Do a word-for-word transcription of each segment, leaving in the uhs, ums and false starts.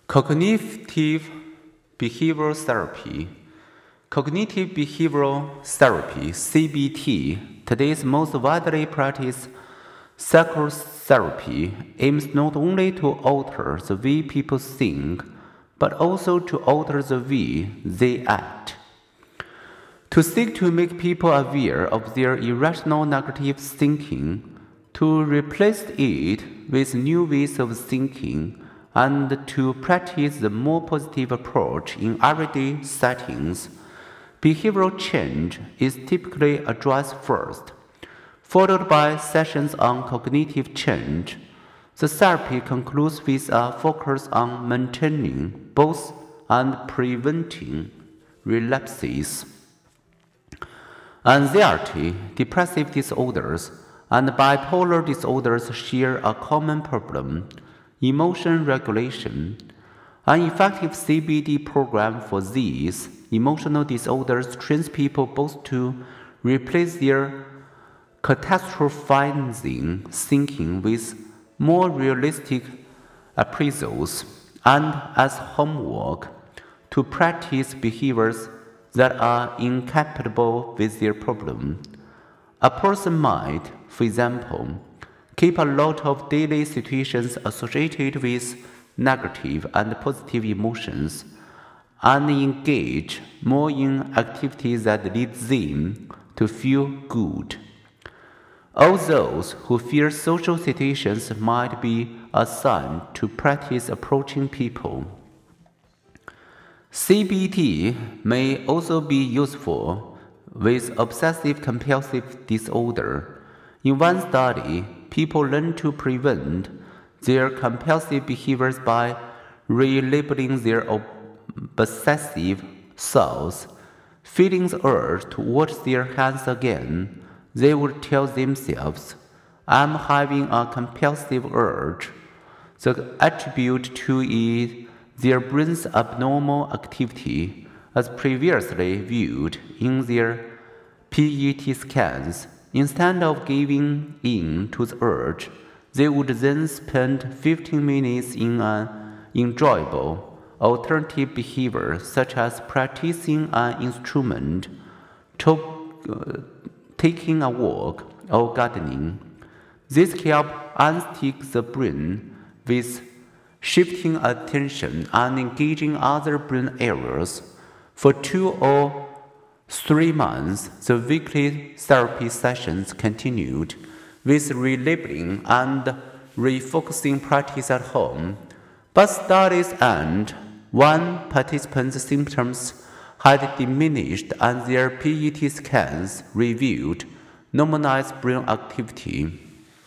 Cognitive behavioral therapy. Cognitive behavioral therapy, C B T, today's most widely practiced psychotherapy, aims not only to alter the way people think, but also to alter the way they act. To seek to make people aware of their irrational negative thinking, to replace it with new ways of thinking, and to practice the more positive approach in everyday settings, behavioral change is typically addressed first, followed by sessions on cognitive change. The therapy concludes with a focus on maintaining both and preventing relapses. Anxiety, depressive disorders, and bipolar disorders share a common problem: emotion regulation. An effective C B T program for these emotional disorders trains people both to replace their catastrophizing thinking with more realistic appraisals and, as homework, to practice behaviors that are incompatible with their problem. A person might, for example, keep a lot of daily situations associated with negative and positive emotions and engage more in activities that lead them to feel good. All those who fear social situations might be assigned to practice approaching people. C B T may also be useful with obsessive-compulsive disorder. In one study, people learn to prevent their compulsive behaviors by relabeling their obsessive thoughts. Feeling the urge to wash their hands again, they would tell themselves, "I'm having a compulsive urge." The attribute to it their brain's abnormal activity, as previously viewed in their P E T scans. Instead of giving in to the urge, they would then spend fifteen minutes in an enjoyable alternative behavior, such as practicing an instrument, to, uh, taking a walk, or gardening. This helps unstick the brain with shifting attention and engaging other brain areas. For two or three months, the weekly therapy sessions continued, with relabeling and refocusing practice at home. But studies end when participants' symptoms had diminished and their P E T scans revealed normalized brain activity.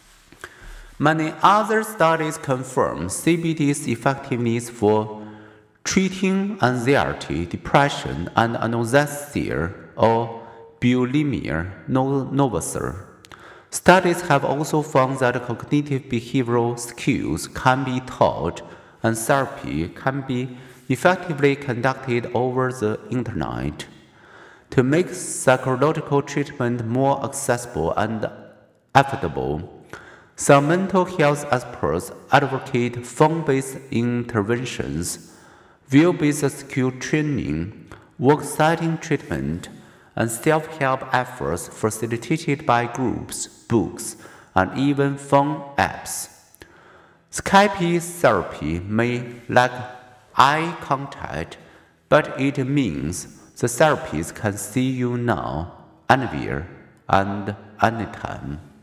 Many other studies confirm C B T's effectiveness for treating anxiety, depression, and anorexia or bulimia nervosa. Studies have also found that cognitive behavioral skills can be taught and therapy can be effectively conducted over the internet. To make psychological treatment more accessible and affordable, some mental health experts advocate phone-based interventions, wheel-based skill training, work-setting treatment, and self-help efforts facilitated by groups, books, and even phone apps. Skype therapy may lack eye contact, but it means the therapist can see you now, anywhere, and anytime.